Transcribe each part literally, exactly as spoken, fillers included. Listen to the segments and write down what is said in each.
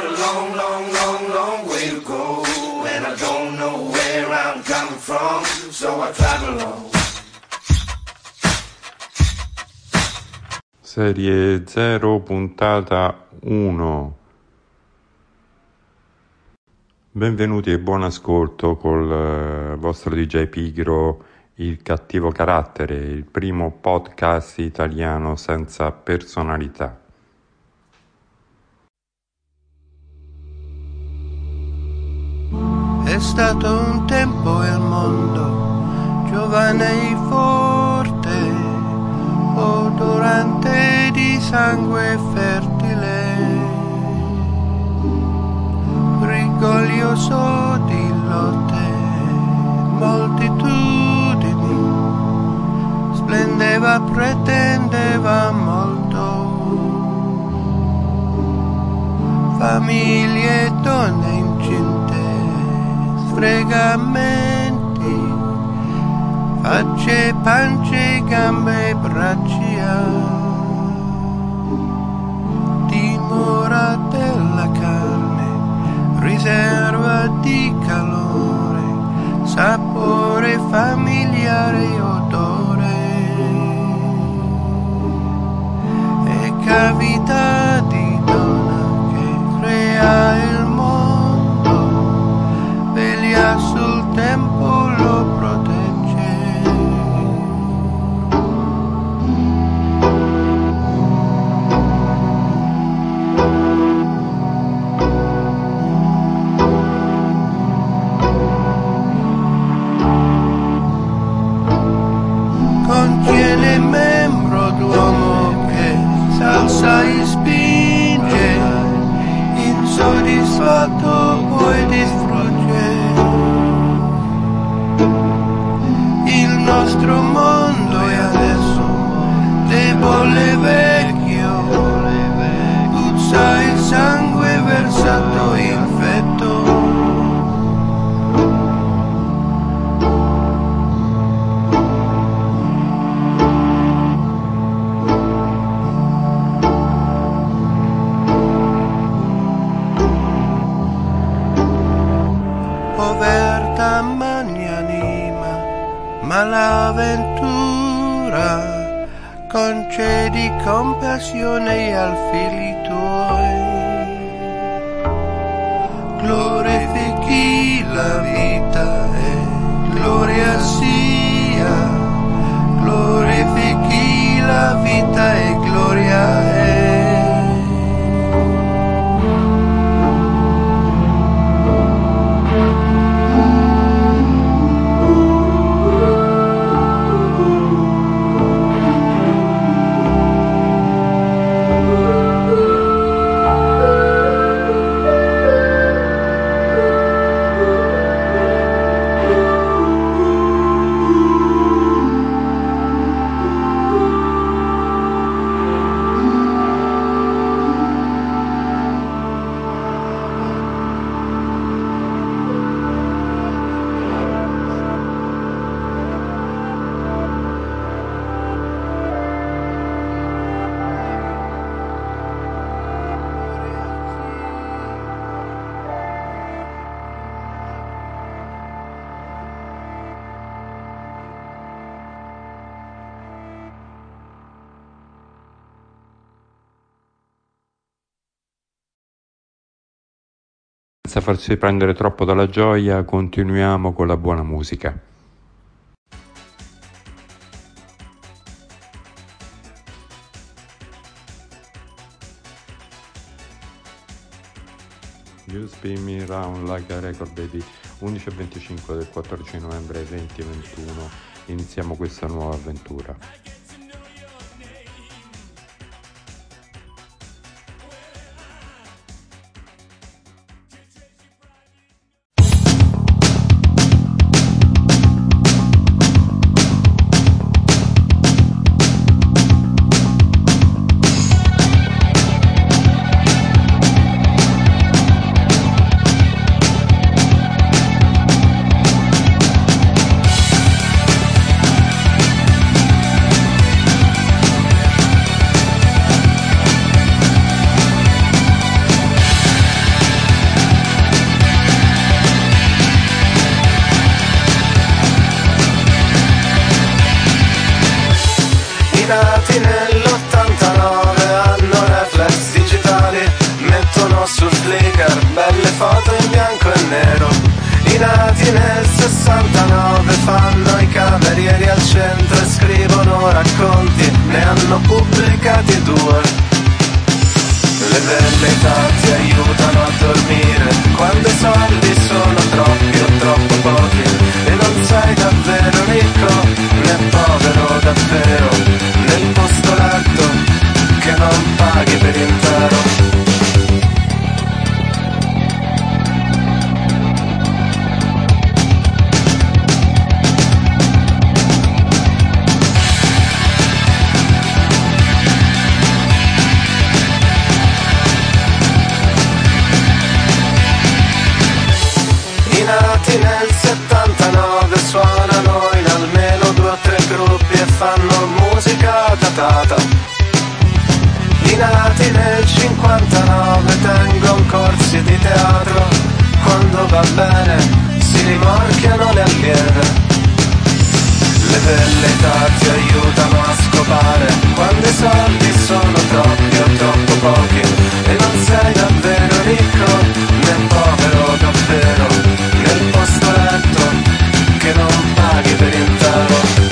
got a long, long, long, long way to go, and I don't know where I'm coming from, so I travel on. Serie zero, puntata uno. Benvenuti e buon ascolto col vostro D J Pigro, il cattivo carattere, il primo podcast italiano senza personalità. È stato un tempo il mondo, giovane e forte, odorante di sangue fertile, rigoglioso di lotte, moltitudini, splendeva, pretendeva molto, famiglie, donne incinte, sfregamenti, facce, pance, gambe, braccia, dimora della carne, riserva di calore, sapore familiare, odore e cavità di donna che crea il mondo, veglia sul tempo, lo protegge. Contiene membro d'uomo che s'alza e spinge, insoddisfatto poi distrugge. Il nostro mondo è adesso debole, vecchio, puzza il sangue versato, infetto. Povertà magnanima, malavventura, concedi compassione ai figli tuoi, glorifichi la vita e gloria sia, glorifichi la vita e gloria è. Senza farci prendere troppo dalla gioia, continuiamo con la buona musica. You Spin Me Round Like a Record Baby, undici e venticinque del quattordici novembre duemilaventuno. Iniziamo questa nuova avventura. ti aiutano a dormire quando i soldi sono troppi o troppo pochi e non sei davvero ricco né povero davvero, nel posto letto che non paghi per intero. Nel settantanove suonano in almeno due o tre gruppi e fanno musica datata. I nati nel cinquantanove tengono corsi di teatro, quando va bene si rimorchiano le allieve. Le velleità ti aiutano a scopare quando i soldi sono troppi o troppo pochi e non sei davvero ricco né povero davvero, nel posto letto che non paghi per intero.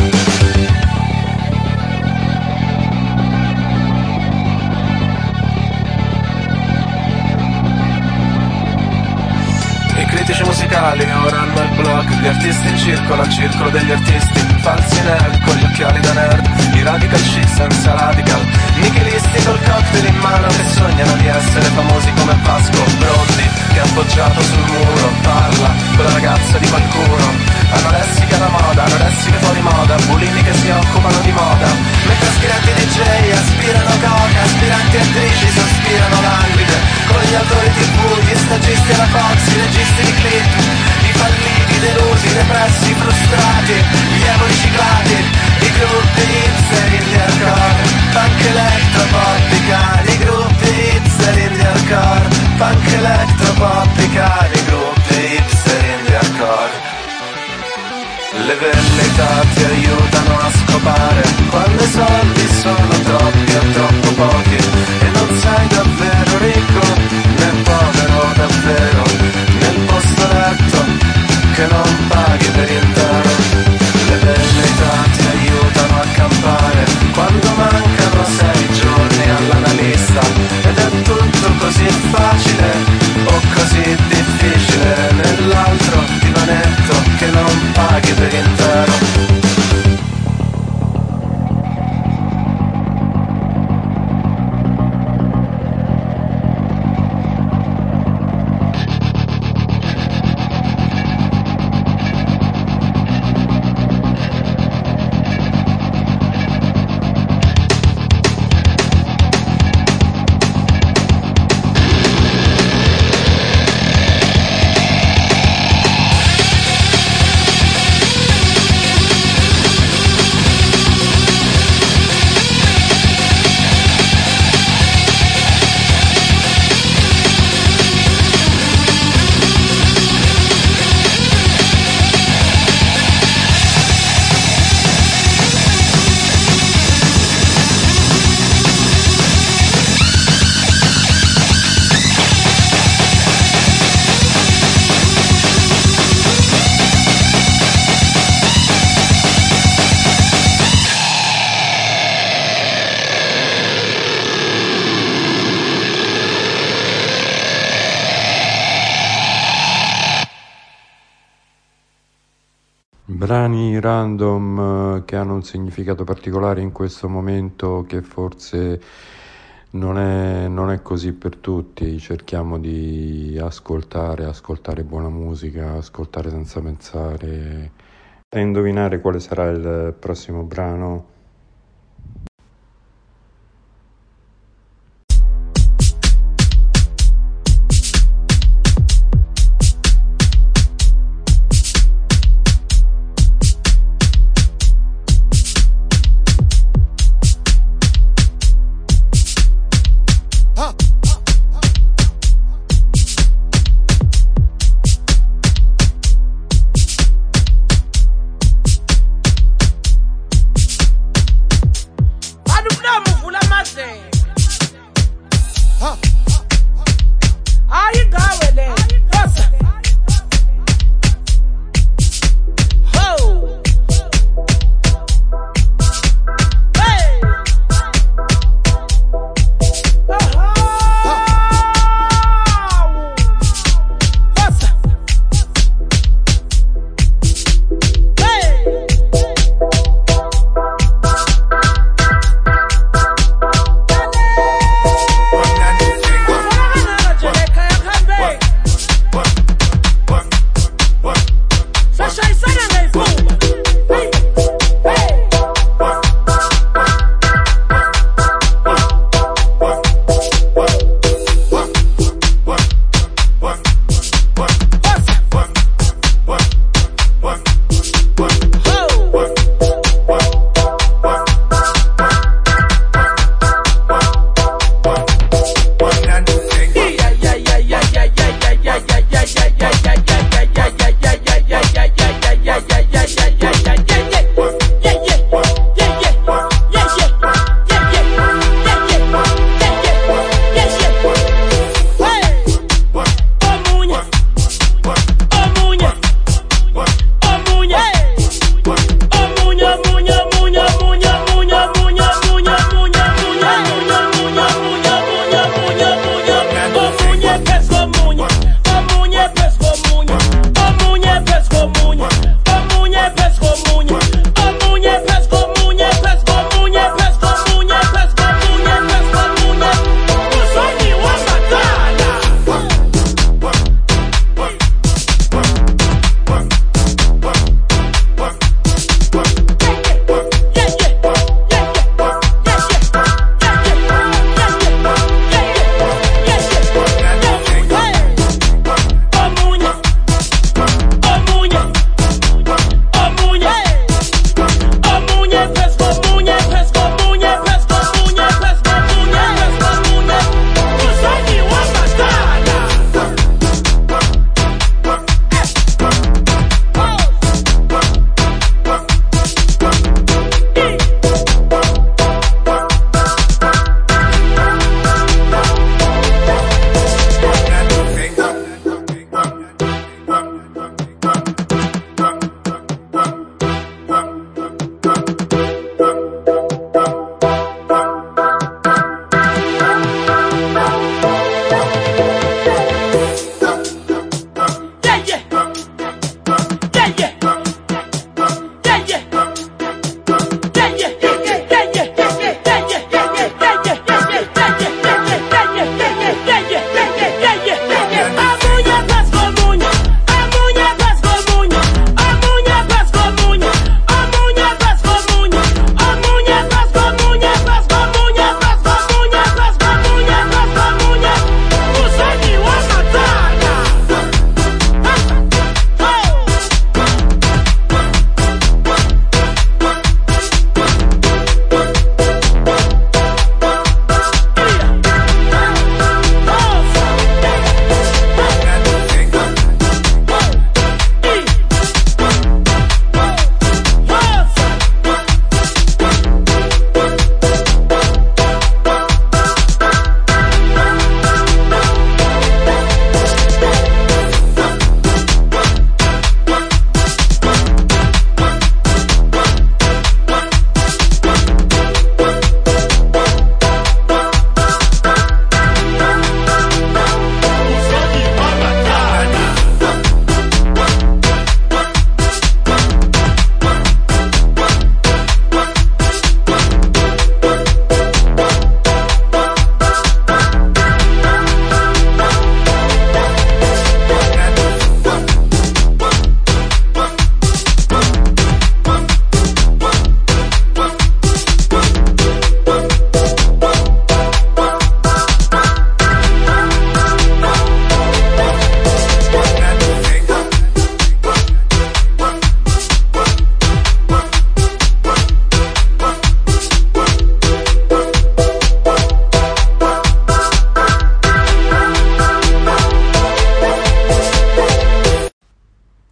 I critici musicali ora hanno il blog, gli artisti in circolo al circolo degli artisti, falsi nerd con gli occhiali da nerd, i radical chic senza radical, nichilisti col cocktail in mano che sognano di essere famosi come Vasco Brondi, che appoggiato sul muro parla con la ragazza di qualcuno, anoressiche alla moda, anoressiche fuori moda, bulimi che si occupano di moda, mentre aspiranti D J aspirano coca, aspiranti attrici sospirano languide, con gli autori tv, gli stagisti alla Fox, i registi di clip, i falliti, i delusi, i repressi, i frustrati, gli emo riciclati, i gruppi hipster, indie hardcore, punk electropop, i cari, i gruppi hipster, indie hardcore, punk electropop, i cari, gruppi hipster, indie hardcore. Le velleità ti aiutano a scopare quando i soldi sono troppi o troppo pochi e non sei davvero ricco né povero davvero, nel posto letto che non paghi per intero. Le velleità ti aiutano a campare quando mancano sei giorni all'analista ed è tutto così facile o così difficile nell'altro divanetto che non paghi per intero. Brani random che hanno un significato particolare in questo momento che forse non è, non è così per tutti. Cerchiamo di ascoltare, ascoltare buona musica, ascoltare senza pensare e indovinare quale sarà il prossimo brano.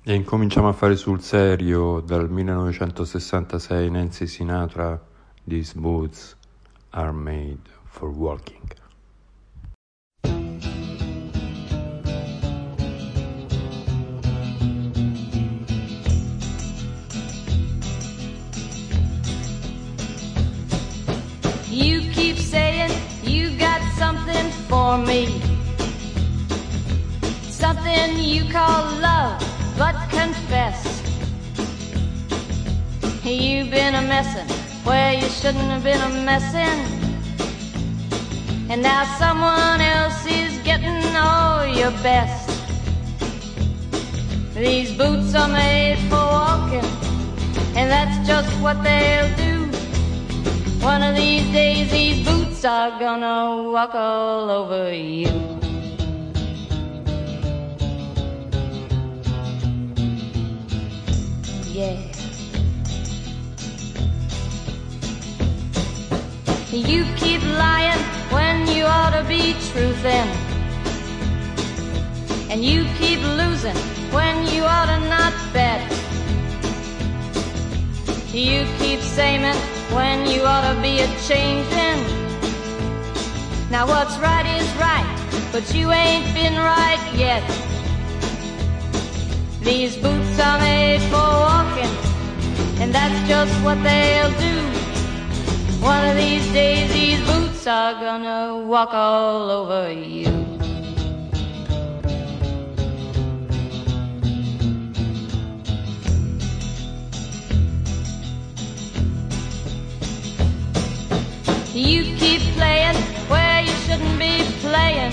E incominciamo a fare sul serio. Dal millenovecentosessantasei Nancy Sinatra, These boots are made for walking. You keep saying you got something for me, something you call love, but confess you've been a messin' where you shouldn't have been a messin', and now someone else is getting all your best. These boots are made for walking, and that's just what they'll do. One of these days these boots are gonna walk all over you. Yeah. You keep lying when you ought to be truthin', and you keep losing when you ought to not bet. You keep saying when you ought to be a-changin'. Now what's right is right, but you ain't been right yet. These boots are made for walking, and that's just what they'll do. One of these days these boots are gonna walk all over you. You keep playing where you shouldn't be playing,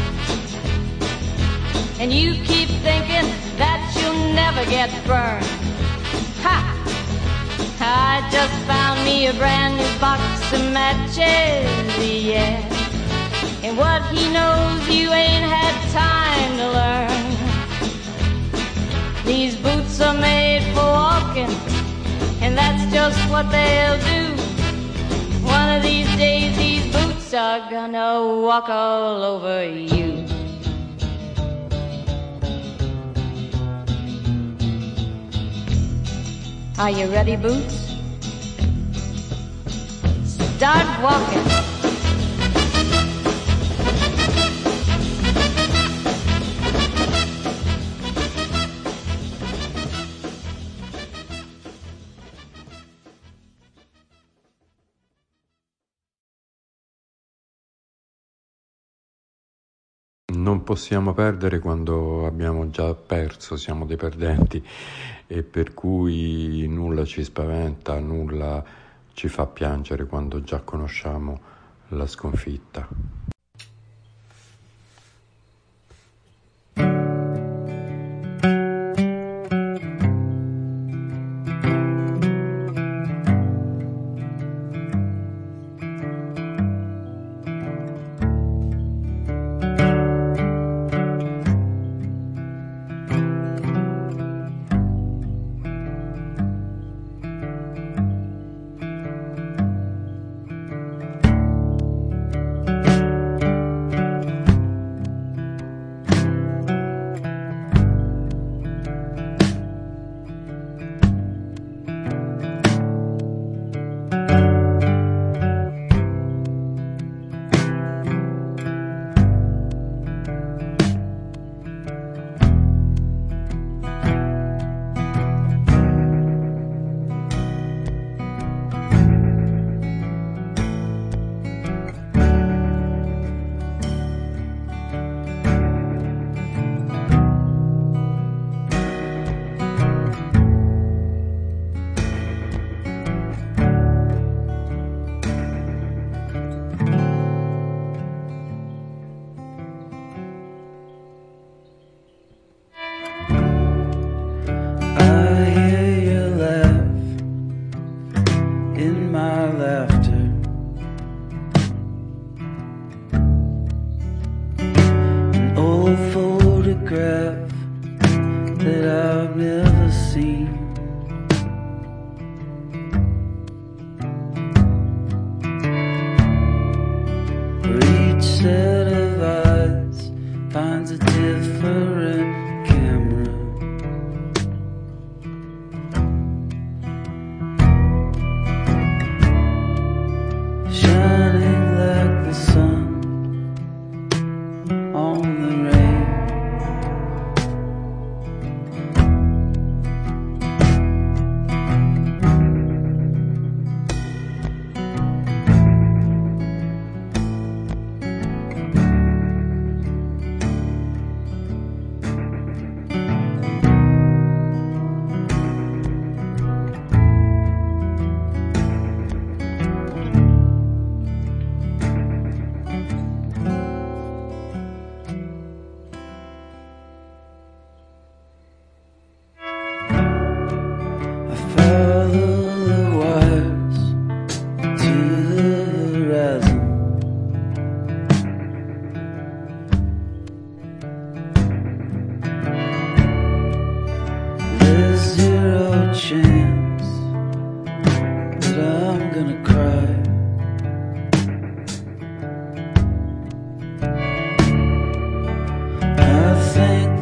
and you keep thinking that you'll never get burned. Ha! I just found me a brand new box of matches, yeah. And what he knows you ain't had time to learn. These boots are made for walking, and that's just what they'll do. One of these days these boots are gonna walk all over you. Are you ready, boots? Start walking. Non possiamo perdere quando abbiamo già perso, siamo dei perdenti, e per cui nulla ci spaventa, nulla ci fa piangere quando già conosciamo la sconfitta. Finds a different camera.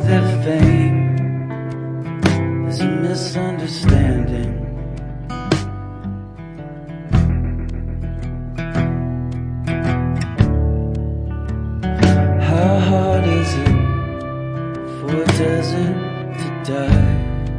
their fame is a misunderstanding. How hard is it for a desert to die?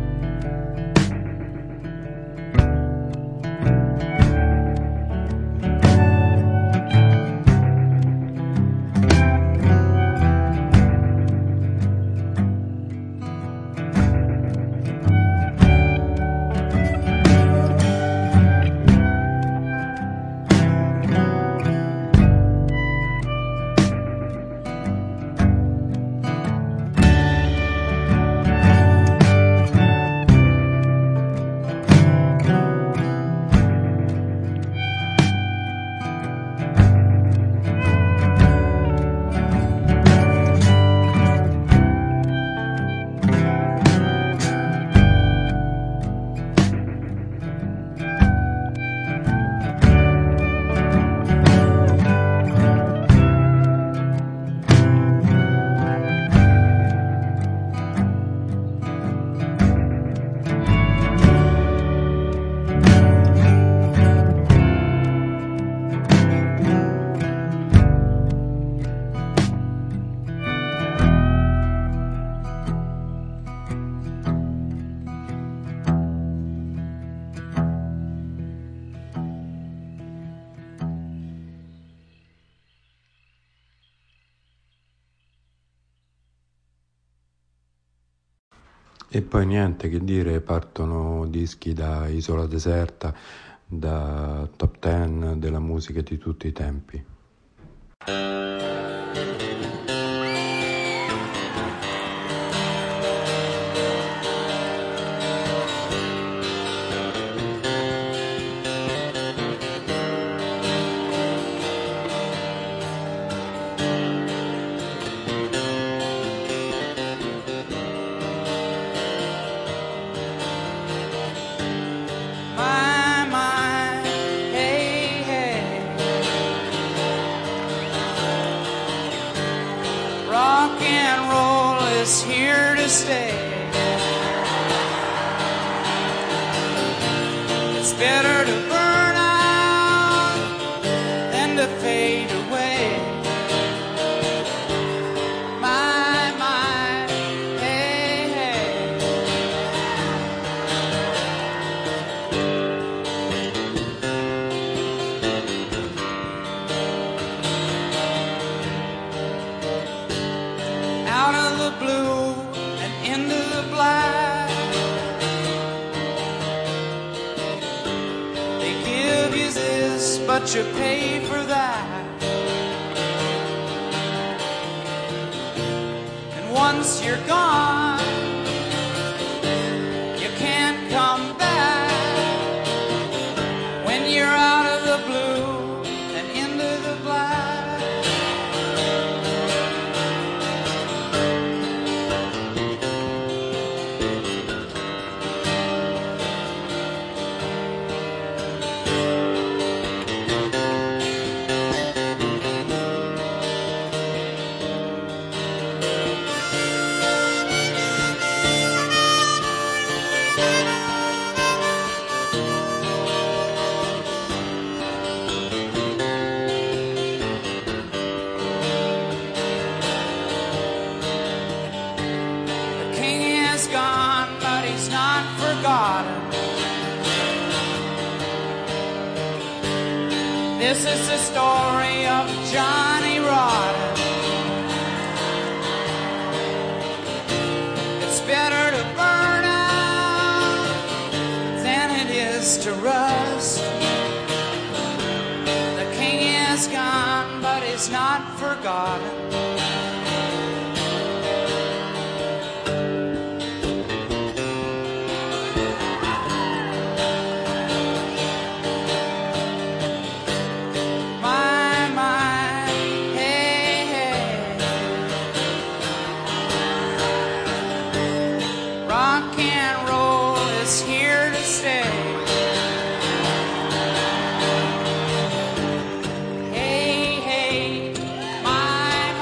E poi niente che dire, partono dischi da Isola Deserta, da top ten della musica di tutti i tempi. Better to burn out than to fade away. My, my, hey, hey. Out of the blue and into the black, but you pay for that. And once you're gone, you can't come back. When you're out of the blue and into the black, this is the story of Johnny Rotten. It's better to burn out than it is to rust. The king is gone, but he's not forgotten. Hey, hey, my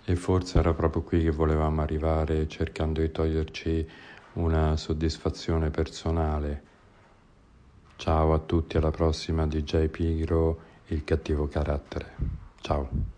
e forse era proprio qui che volevamo arrivare, cercando di toglierci una soddisfazione personale. Ciao a tutti, alla prossima. D J Pigro, il cattivo carattere. Ciao.